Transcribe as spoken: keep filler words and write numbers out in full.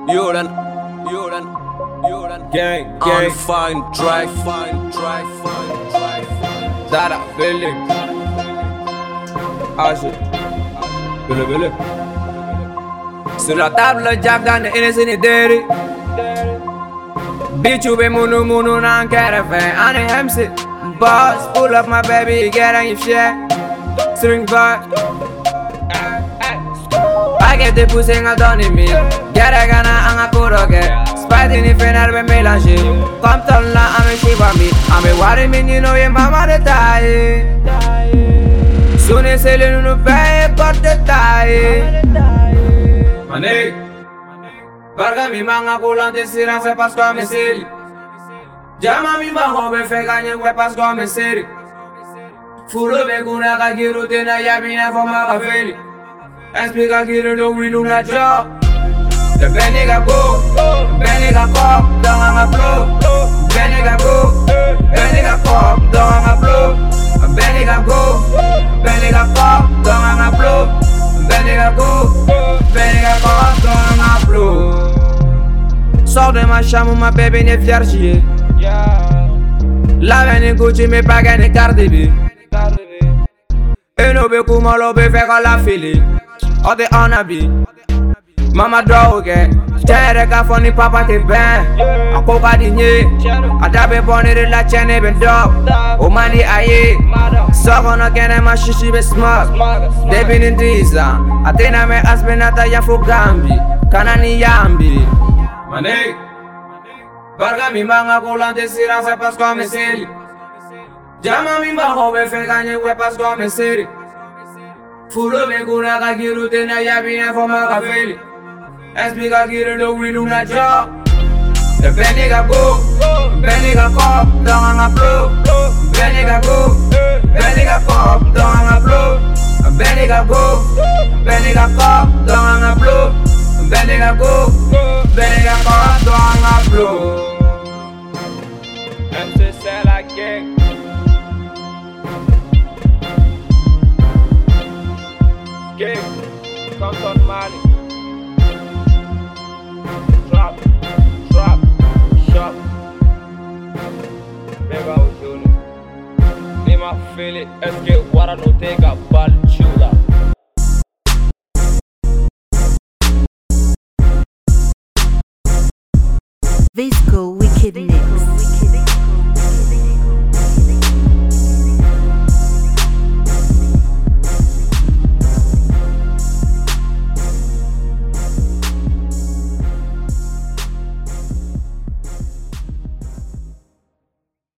Jordan, Jordan, Jordan. Gang, gang. Fine, dry, fine, dry, fine, dry, fine. That I feel it. Ashe. Bele, bele. Sur la table, Jack Dan, innocent and dirty. Bitch, you be munu munu nan caravan. I ain't M C. Boss, pull up my baby, get on your shit. String bar. I get the pussy en donne mille. Get a gana en a kuroge. Spidey ni final be mélanger. Comme ton là, I'm a shiva me. I'm a worry me, you know your mama de taille. Soon as c'est le nous paye porte de taille. Mané. Barga mi manga coulante siran c'est parce qu'on me sait. Jama mi bango be fe gagner ouais parce qu'on me sait. Fulo be kuna ka giru tena ya bina foma ka feli. Explica que eu não vi na job. The Benega go, Benega pop, don't hang a flow. Benega go, Benega pop, don't hang a flow. Benega go, Benega pop, don't hang a flow. Benega go, Benega pop, don't hang a flow. Sors de ma chambre, ma bébé n'est vierge. La veine Gucci, mais pas gagne Cardi B. Et nous be comme l'on be faire la file. All the honor be Mama dog Tere ka foni papa te ben Ako ka dinye Adabe boni de la chene ben dog O mani aye Sogono kene ma shishi be smart Debi nindiza Atina me aspenata ya fugambi Kanani yambi Manek Barga mi manga kolante siran se pas kwa me seri Jama mi manga be fe ganye we pas kwa me seri Fulo me kuna ka giru tena ya bina foma ka feli. Explica que eu não vi na job. The Benega go, Benega pop, don't hang a flow. Benega go, Benega pop, don't hang a flow. Benega go, Benega pop, don't hang a flow. Benega go, Benega pop, don't hang a flow. M C c'est la gang. Gang, Compton Mali. Trap, trap, shop. Pega o Júnior. Lima Fili, es que Guara no tenga bal chula. Visco Wicked Mix.